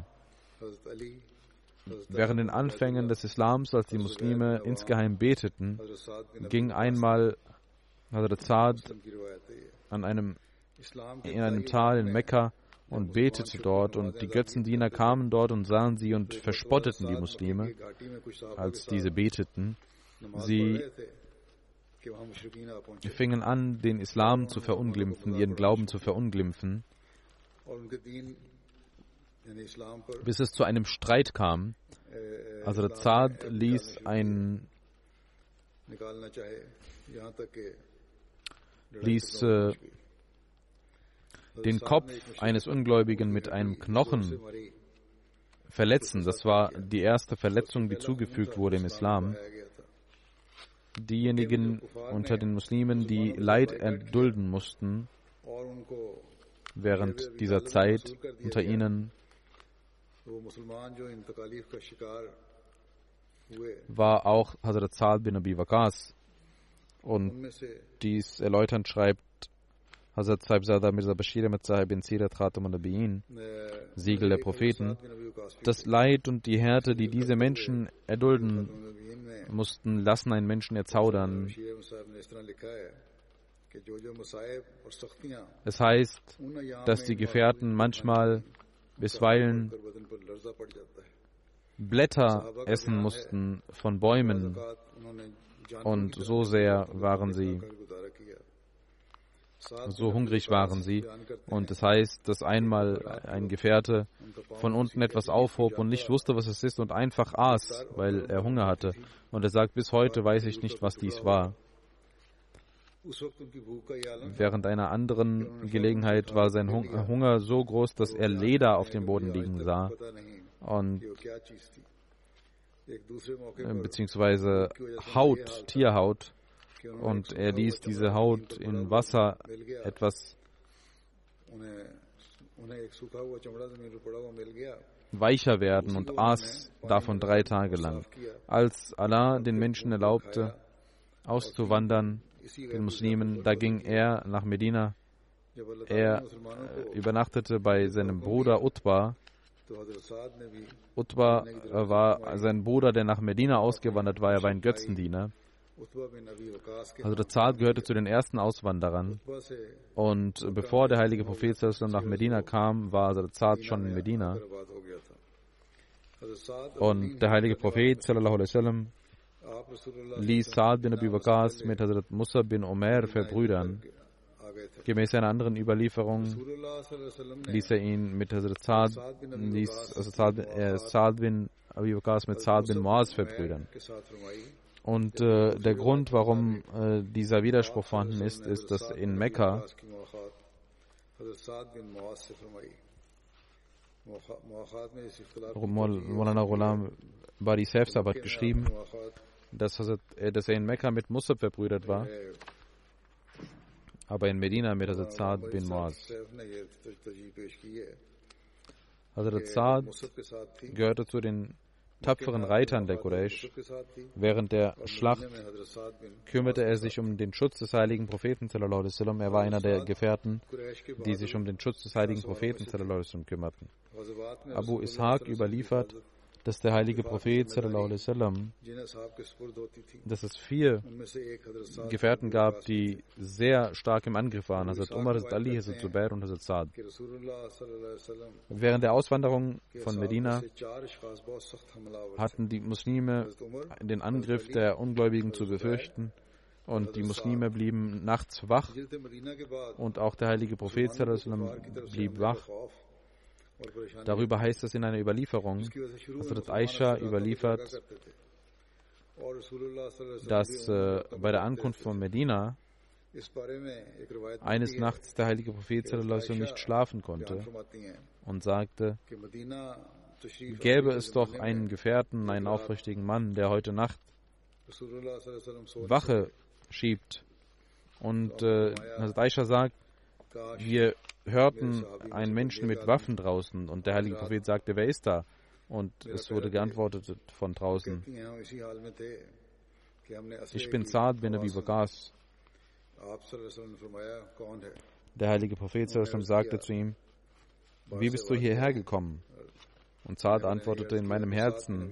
Während den Anfängen des Islams, als die Muslime insgeheim beteten, ging einmal Hazrat Saad an einem, in einem Tal in Mekka und betete dort, und die Götzendiener kamen dort und sahen sie und verspotteten die Muslime, als diese beteten. Sie fingen an, den Islam zu verunglimpfen, ihren Glauben zu verunglimpfen, bis es zu einem Streit kam. Also Saad ließ ein, ließ äh, den Kopf eines Ungläubigen mit einem Knochen verletzen. Das war die erste Verletzung, die zugefügt wurde im Islam. Diejenigen unter den Muslimen, die Leid erdulden mussten während dieser Zeit, unter ihnen war auch Hazrat Saad bin Abi Waqas. Und dies erläuternd schreibt Hazrat Sahibzada Mirza Bashir Ahmad Sahib bin Sirat Khatam al-Nabiyyin, Siegel der Propheten: Das Leid und die Härte, die diese Menschen erdulden mussten, lassen einen Menschen erzaudern. Es heißt, dass die Gefährten manchmal bisweilen Blätter essen mussten von Bäumen, und so sehr waren sie, so hungrig waren sie. Und es heißt, dass einmal ein Gefährte von unten etwas aufhob und nicht wusste, was es ist, und einfach aß, weil er Hunger hatte. Und er sagt: Bis heute weiß ich nicht, was dies war. Während einer anderen Gelegenheit war sein Hunger so groß, dass er Leder auf dem Boden liegen sah, und beziehungsweise Haut, Tierhaut, und er ließ diese Haut in Wasser etwas weicher werden und aß davon drei Tage lang. Als Allah den Menschen erlaubte, auszuwandern, den Muslimen, da ging er nach Medina. Er übernachtete bei seinem Bruder Utba. Utba war sein Bruder, der nach Medina ausgewandert war. Er war ein Götzendiener. Hazrat Saad gehörte zu den ersten Auswanderern. Und bevor der heilige Prophet nach Medina kam, war Hazrat Saad schon in Medina. Und der heilige Prophet sallallahu alaihi wasallam ließ Saad bin Abi Waqqas mit Hazrat Musa bin Umair verbrüdern. Gemäß einer anderen Überlieferung ließ er ihn mit Hazrat Saad, ließ also Saad, äh, Saad bin Abi Waqqas mit Saad bin Muaz verbrüdern. Und äh, der Grund, warum äh, dieser Widerspruch vorhanden ist, ist, dass in Mekka Maulana Ghulam Bari Saif hat geschrieben, dass, äh, dass er in Mekka mit Musab verbrüdert war, aber in Medina mit Hazrat Saad bin Muaz. Hazrat Saad gehörte zu den tapferen Reitern der Quraysh. Während der Schlacht kümmerte er sich um den Schutz des heiligen Propheten sallallahu alaihi wasallam. Er war einer der Gefährten, die sich um den Schutz des heiligen Propheten sallallahu alaihi wasallam kümmerten. Abu Ishaq überliefert, dass der heilige Prophet sallallahu alaihi wasallam, dass es vier Gefährten gab, die sehr stark im Angriff waren: Hazrat Umar, Hazrat Ali, Hazrat Zubair und Hazrat Saad. Während der Auswanderung von Medina hatten die Muslime den Angriff der Ungläubigen zu befürchten, und die Muslime blieben nachts wach, und auch der heilige Prophet sallallahu alaihi wasallam blieb wach. Darüber heißt es in einer Überlieferung, Hazrat Aisha überliefert, dass äh, bei der Ankunft von Medina eines Nachts der heilige Prophet sallallahu alaihi wasallam nicht schlafen konnte und sagte, gäbe es doch einen Gefährten, einen aufrichtigen Mann, der heute Nacht Wache schiebt. Und äh, Hazrat Aisha sagt, wir hörten einen Menschen mit Waffen draußen, und der heilige Prophet sagte, wer ist da? Und es wurde geantwortet von draußen, ich bin Saad bin Abi Waqqas. Der heilige Prophet sagte zu ihm, wie bist du hierher gekommen? Und Saad antwortete, in meinem Herzen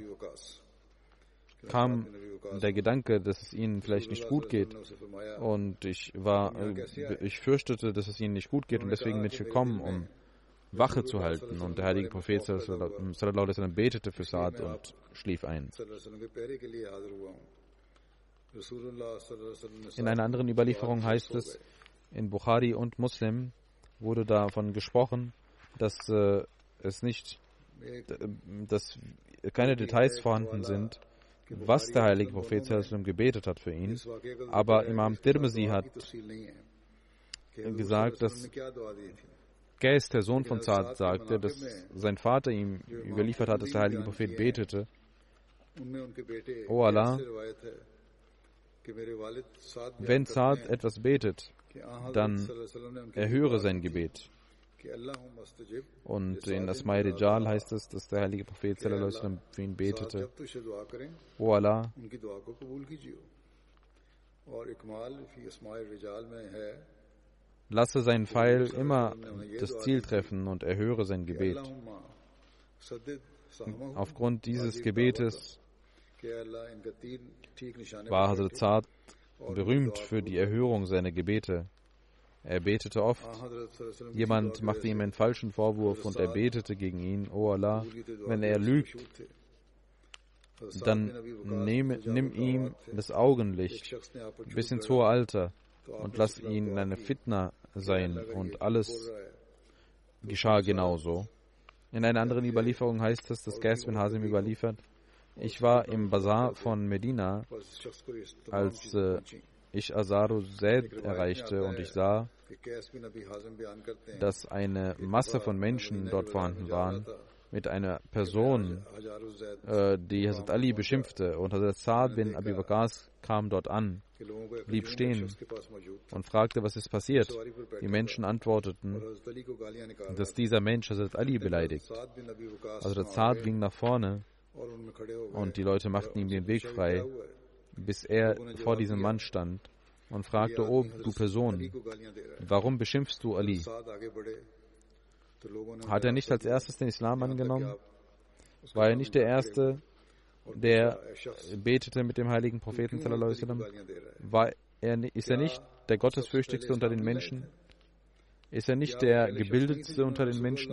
kam der Gedanke, dass es ihnen vielleicht nicht gut geht, und ich war, ich fürchtete, dass es ihnen nicht gut geht, und deswegen bin ich gekommen, um Wache zu halten. Und der heilige Prophet sallallahu alaihi wasallam betete für Saad und schlief ein. In einer anderen Überlieferung heißt es, in Bukhari und Muslim wurde davon gesprochen, dass äh, es nicht, dass keine Details vorhanden sind, was der heilige Prophet sallallahu alaihi wasallam gebetet hat für ihn. Aber Imam Tirmizi hat gesagt, dass Qais, der Sohn von Saad, sagte, dass sein Vater ihm überliefert hat, dass der heilige Prophet betete: O Allah, wenn Saad etwas betet, dann erhöre sein Gebet. Und in Asma'i Rijal heißt es, dass der heilige Prophet sallallahu alaihi wasallam für ihn betete: O Allah, lasse seinen Pfeil immer das Ziel treffen und erhöre sein Gebet. Aufgrund dieses Gebetes war Hazrat Saad berühmt für die Erhörung seiner Gebete. Er betete oft. Jemand machte ihm einen falschen Vorwurf und er betete gegen ihn: O Allah, wenn er lügt, dann nimm, nimm ihm das Augenlicht bis ins hohe Alter und lass ihn in einer Fitna sein. Und alles geschah genauso. In einer anderen Überlieferung heißt es, dass Qais bin Hazim überliefert: Ich war im Bazar von Medina, als äh, ich Azaru Zaid erreichte, und ich sah, dass eine Masse von Menschen dort vorhanden waren, mit einer Person, äh, die Hazrat Ali beschimpfte. Und Hazrat Saad bin Abi Waqqas kam dort an, blieb stehen und fragte, was ist passiert. Die Menschen antworteten, dass dieser Mensch Hazrat Ali beleidigt. Hazrat Saad ging nach vorne, und die Leute machten ihm den Weg frei, bis er vor diesem Mann stand und fragte: O du Person, warum beschimpfst du Ali? Hat er nicht als erstes den Islam angenommen? War er nicht der Erste, der betete mit dem heiligen Propheten sallallahu alaihi wasallam, war er, ist er nicht der Gottesfürchtigste unter den Menschen? Ist er nicht der gebildetste unter den Menschen?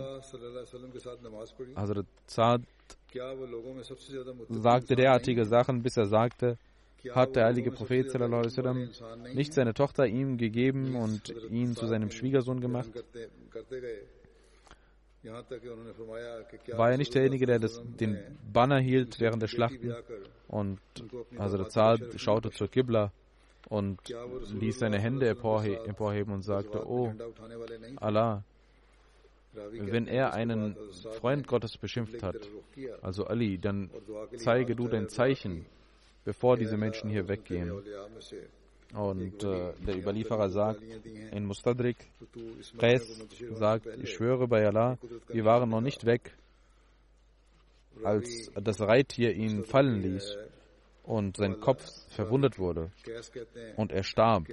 Also Saad sagte derartige Sachen, bis er sagte, hat der heilige Prophet sallallahu alaihi wasallam nicht seine Tochter ihm gegeben und ihn zu seinem Schwiegersohn gemacht? War er nicht derjenige, der das, den Banner hielt während der Schlachten? Und also Saad schaute zur Qibla und ließ seine Hände emporheben und sagte, oh Allah, wenn er einen Freund Gottes beschimpft hat, also Ali, dann zeige du dein Zeichen, bevor diese Menschen hier weggehen. Und äh, der Überlieferer sagt, in Mustadrik, Qais sagt, ich schwöre bei Allah, wir waren noch nicht weg, als das Reittier ihn fallen ließ und sein Kopf verwundet wurde und er starb.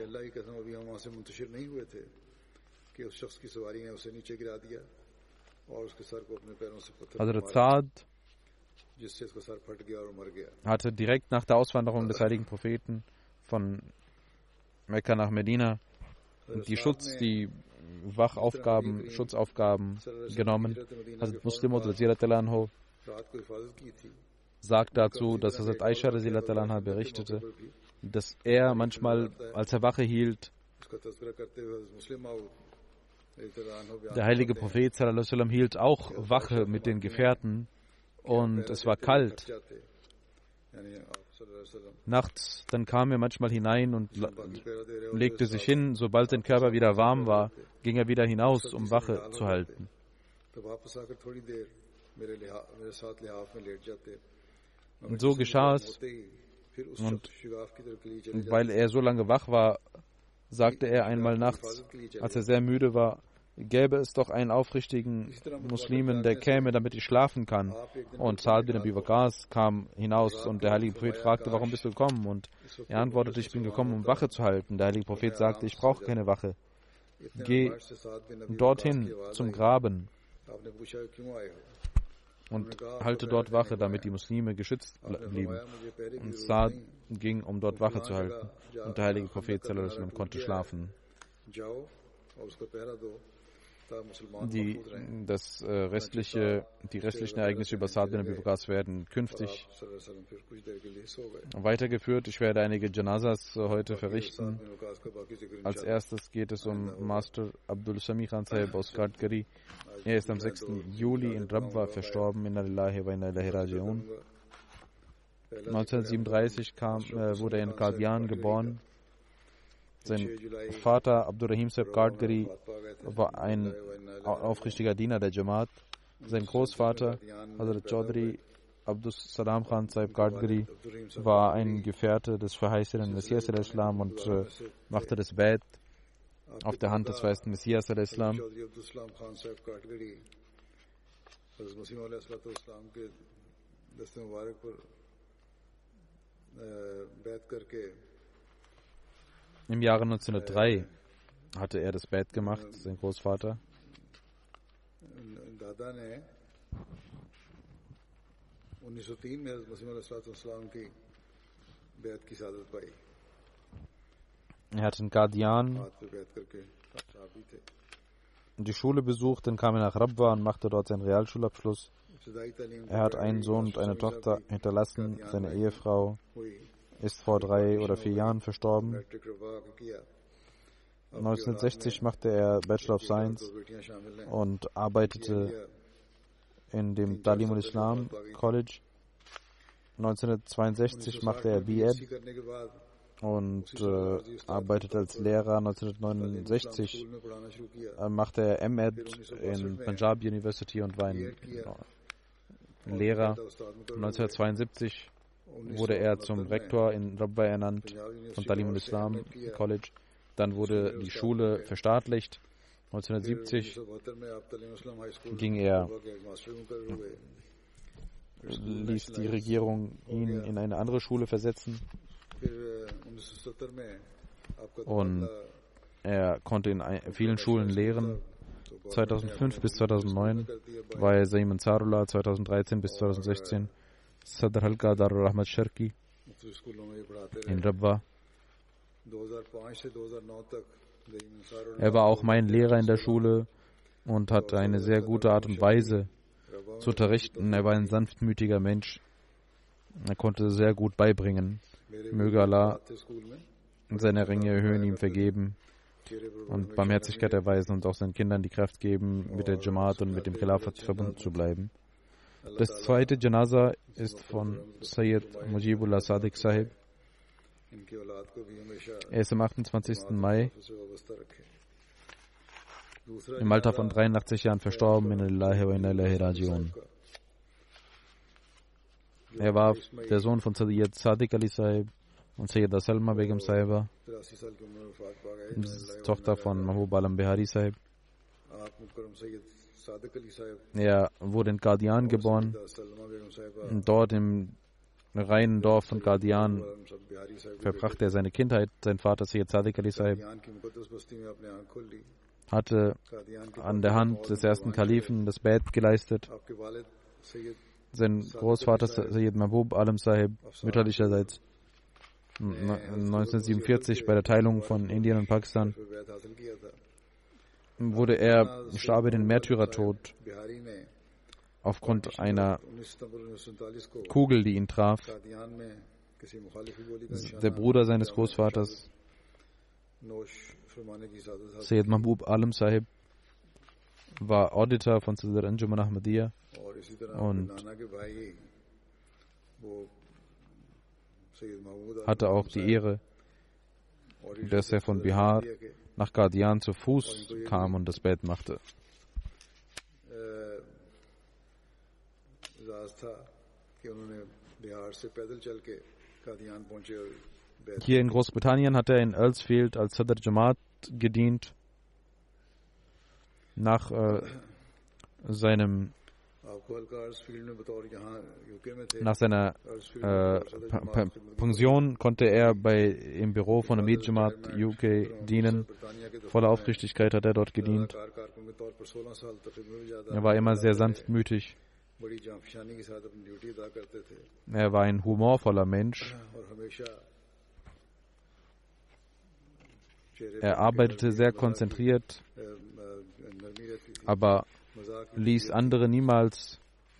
Also Saad hatte direkt nach der Auswanderung des heiligen Propheten von Mekka nach Medina die Schutz, die Wachaufgaben, Schutzaufgaben genommen. Also Muslim Anhu sagt dazu, dass Hazrat Aisha Anha berichtete, dass er manchmal, als er Wache hielt, der heilige Prophet sallallahu alaihi wasallam hielt auch Wache mit den Gefährten und es war kalt. Nachts, dann kam er manchmal hinein und legte sich hin. Sobald sein Körper wieder warm war, ging er wieder hinaus, um Wache zu halten. Und so geschah es. Und weil er so lange wach war, sagte er einmal nachts, als er sehr müde war, gäbe es doch einen aufrichtigen Muslimen, der käme, damit ich schlafen kann. Und Saad bin Abi Waqqas kam hinaus und der heilige Prophet fragte, warum bist du gekommen? Und er antwortete, ich bin gekommen, um Wache zu halten. Der heilige Prophet sagte, ich brauche keine Wache. Geh dorthin zum Graben und halte dort Wache, damit die Muslime geschützt blieben. Und Saad ging, um dort Wache zu halten. Und der heilige Prophet sallallahu alaihi wasallam konnte schlafen. Die, das, äh, restliche, die restlichen Ereignisse über Saad bin Abi Waqqas werden künftig weitergeführt. Ich werde einige Janazas äh, heute verrichten. Als erstes geht es um Master Abdul Sami Khan Sahib aus Kadgari. Er ist am sechsten Juli in Rabwa verstorben. Inna lillahi wa inna ilaihi raji'un. neunzehnhundertsiebenunddreißig kam, äh, wurde er in Qadian geboren. Sein Vater Abdurrahim Sahib Kadgari war ein aufrichtiger Diener der Jamaat. Sein Großvater Hazrat Chaudhry Abdus Salam Khan Sahib Kadgari war ein Gefährte des verheißenen Messias al-Islam und äh, machte das Bait auf der Hand des verheißenen Messias al-Islam. Im Jahre neunzehnhundertdrei hatte er das Bait gemacht, sein Großvater. Er hat in Qadian die Schule besucht, dann kam er nach Rabwa und machte dort seinen Realschulabschluss. Er hat einen Sohn und eine Tochter hinterlassen. Seine Ehefrau ist vor drei oder vier Jahren verstorben. neunzehnhundertsechzig machte er Bachelor of Science und arbeitete in dem Talim al-Islam College. neunzehnhundertzweiundsechzig machte er B Ed und äh, arbeitete als Lehrer. neunzehnhundertneunundsechzig äh, machte er M Ed in Punjab University und war ein äh, Lehrer. neunzehnhundertzweiundsiebzig wurde er zum Rektor in Rabwa ernannt von Talim al-Islam College. Dann wurde die Schule verstaatlicht. neunzehnhundertsiebzig ging er, ließ die Regierung ihn in eine andere Schule versetzen und er konnte in vielen Schulen lehren. zweitausendfünf bis zweitausendneun war er Sayyid Ansarullah, zweitausenddreizehn bis zweitausendsechzehn Sadr Halqa Darul Rahmat Sharqi in Rabwa. Er war auch mein Lehrer in der Schule und hatte eine sehr gute Art und Weise zu unterrichten. Er war ein sanftmütiger Mensch. Er konnte sehr gut beibringen. Möge Allah seine Ringe erhöhen, ihm vergeben und Barmherzigkeit erweisen und auch seinen Kindern die Kraft geben, mit der Jamaat und mit dem Khilafat verbunden zu bleiben. Das zweite Janaza ist von Sayyid Mujibullah Sadiq Sahib. Er ist am achtundzwanzigsten Mai im Alter von dreiundachtzig Jahren verstorben. Inna lillahi wa inna ilaihi raji'un. Er war der Sohn von Sayyid Sadiq Ali Sahib und Sayyida Salma Begum Sahiba, Tochter von Mahbub Alam Bihari Sahib. Er wurde in Qadian geboren. Dort im reinen Dorf von Qadian verbrachte er seine Kindheit. Sein Vater Sayyid Sadiq Ali Sahib hatte an der Hand des ersten Kalifen das Bait geleistet. Sein Großvater Sayyid Mahbub Alam Sahib mütterlicherseits neunzehnhundertsiebenundvierzig bei der Teilung von Indien und Pakistan wurde er, starb er den Märtyrertod aufgrund einer Kugel, die ihn traf. Der Bruder seines Großvaters, Sayyid Mahbub Alam Sahib, war Auditor von Sadr Anjuman Ahmadiyya und hatte auch die Ehre, dass er von Bihar nach Qadian zu Fuß kam und das Bett machte. Hier in Großbritannien hat er in Earlsfield als Sadr Jamaat gedient. Nach äh, seinem Nach seiner äh, Pension konnte er bei, im Büro von Amir Jamaat U K dienen. Voller Aufrichtigkeit hat er dort gedient. Er war immer sehr sanftmütig. Er war ein humorvoller Mensch. Er arbeitete sehr konzentriert, aber ließ andere niemals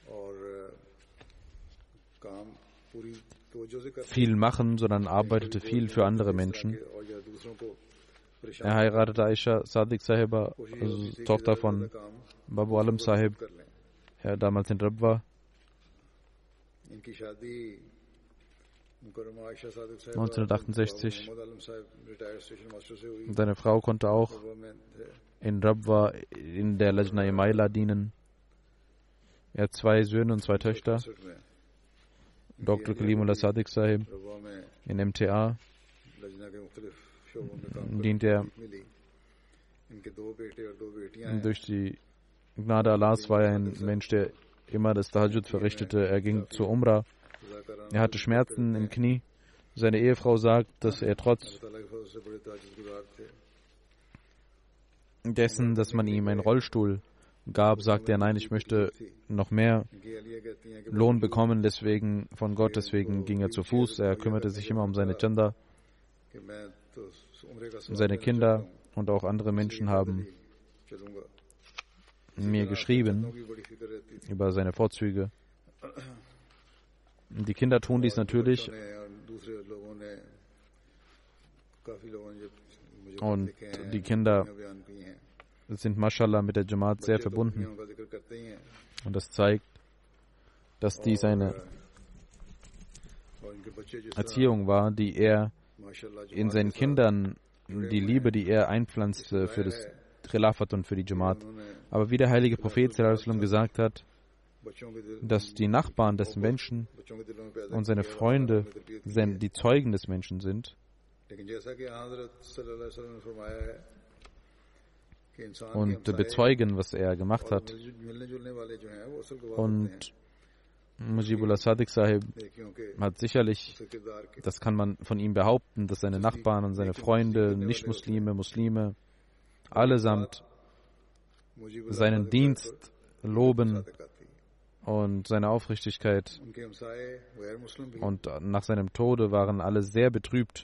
viel machen, sondern arbeitete viel für andere Menschen. Er heiratete Aisha Sadiq Sahiba, also Tochter von Babu Alam Sahib, der damals in Rabwa. neunzehnhundertachtundsechzig. Seine Frau konnte auch in Rabwa in der Lajna Maila dienen. Er hat zwei Söhne und zwei Töchter. Doktor Kalimullah Sadiq Sahib in M T A dient er. Durch die Gnade Allahs war er ein Mensch, der immer das Tahajjud verrichtete. Er ging zur Umrah. Er hatte Schmerzen im Knie. Seine Ehefrau sagt, dass er trotz dessen, dass man ihm einen Rollstuhl gab, sagte er, nein, ich möchte noch mehr Lohn bekommen, deswegen von Gott, deswegen ging er zu Fuß. Er kümmerte sich immer um seine Chanda. Seine Kinder und auch andere Menschen haben mir geschrieben über seine Vorzüge. Die Kinder tun dies natürlich und die Kinder sind Mashallah mit der Jamaat sehr verbunden und das zeigt, dass dies eine Erziehung war, die er in seinen Kindern, die Liebe, die er einpflanzte für das Khilafat und für die Jamaat. Aber wie der heilige Prophet gesagt hat, dass die Nachbarn des Menschen und seine Freunde die Zeugen des Menschen sind. Und bezeugen, was er gemacht hat. Und Mujibullah Sadiq Sahib hat sicherlich, das kann man von ihm behaupten, dass seine Nachbarn und seine Freunde, Nicht-Muslime, Muslime, allesamt seinen Dienst loben und seine Aufrichtigkeit. Und nach seinem Tode waren alle sehr betrübt.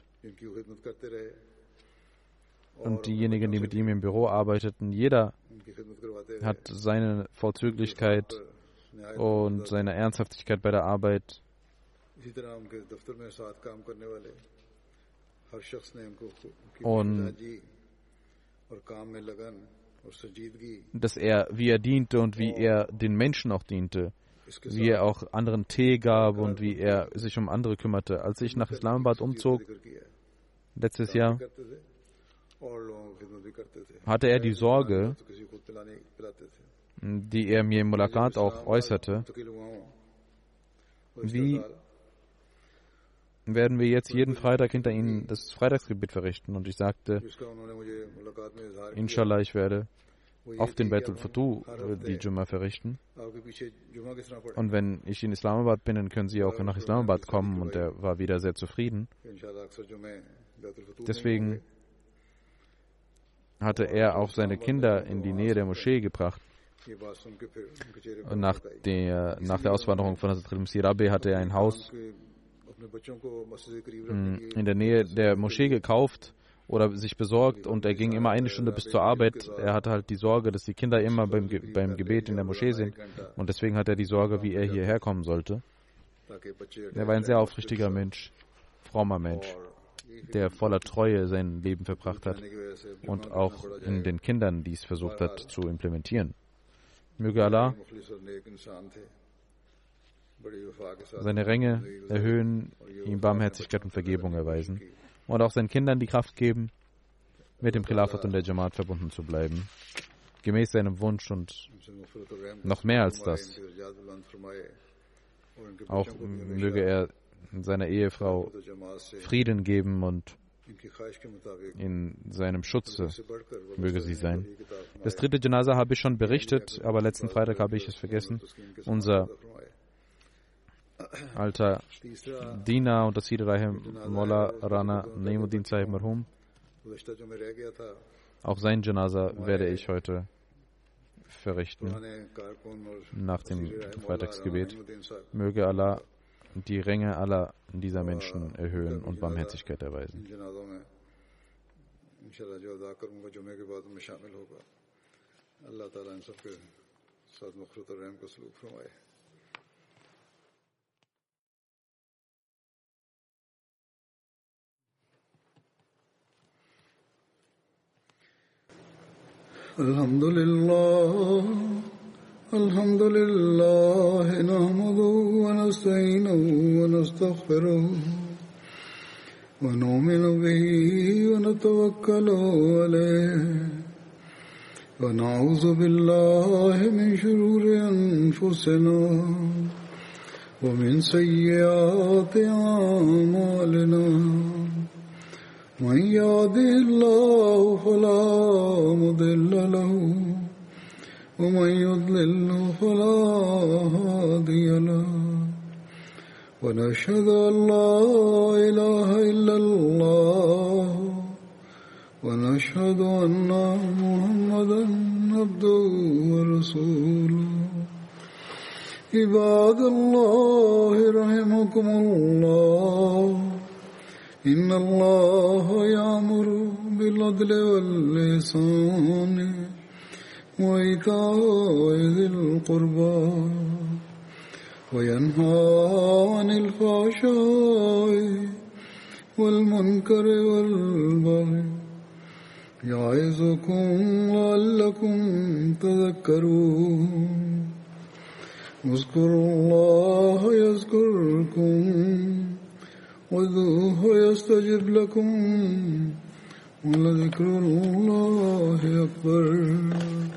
Und diejenigen, die mit ihm im Büro arbeiteten, jeder hat seine Vorzüglichkeit und seine Ernsthaftigkeit bei der Arbeit und dass er, wie er diente und wie er den Menschen auch diente, wie er auch anderen Tee gab und wie er sich um andere kümmerte. Als ich nach Islamabad umzog, letztes Jahr, hatte er die Sorge, die er mir im Mulakat auch äußerte, wie werden wir jetzt jeden Freitag hinter Ihnen das Freitagsgebet verrichten? Und ich sagte, Inshallah, ich werde auf den Baitul Futuh die Jumma verrichten. Und wenn ich in Islamabad bin, dann können Sie auch nach Islamabad kommen. Und er war wieder sehr zufrieden. Deswegen hatte er auch seine Kinder in die Nähe der Moschee gebracht. Und nach der, nach der Auswanderung von Hazrat Masih Rabi hatte er ein Haus in der Nähe der Moschee gekauft oder sich besorgt und er ging immer eine Stunde bis zur Arbeit. Er hatte halt die Sorge, dass die Kinder immer beim, Ge- beim Gebet in der Moschee sind und deswegen hat er die Sorge, wie er hierher kommen sollte. Er war ein sehr aufrichtiger Mensch, frommer Mensch, der voller Treue sein Leben verbracht hat und auch in den Kindern dies versucht hat zu implementieren. Möge Allah seine Ränge erhöhen, ihm Barmherzigkeit und Vergebung erweisen und auch seinen Kindern die Kraft geben, mit dem Khilafat und der Jamaat verbunden zu bleiben, gemäß seinem Wunsch und noch mehr als das. Auch möge er seiner Ehefrau Frieden geben und in seinem Schutze möge sie sein. Das dritte Janaza habe ich schon berichtet, aber letzten Freitag habe ich es vergessen. Unser alter Diener und das Rahim Mola Rana Naimuddin Sahib Marhum. Auch sein Janaza werde ich heute verrichten nach dem Freitagsgebet. Möge Allah die Ränge aller dieser Menschen erhöhen und Barmherzigkeit erweisen. Alhamdulillah, Alhamdulillah, nahmaduhu wa nasta'inuhu wa nastaghfiruh wa nu'minu bihi wa natawakkalu alayhi wa na'udhu billahi min shururi anfusina wa min sayyiati a'malina. من يهده الله فلا مضل له ومن يضلل فلا هادي له ونشهد أن لا إله إلا الله ونشهد أن محمدا عبده ورسوله عباد الله رحمكم الله إن الله يأمر بالعدل والإحسان وإيتاء ذي القربى وينهى عن الفحشاء والمنكر والبغي يعظكم لعلكم تذكرون اذكروا الله يذكركم وادعوه يستجب لكم ولذكر الله أكبر.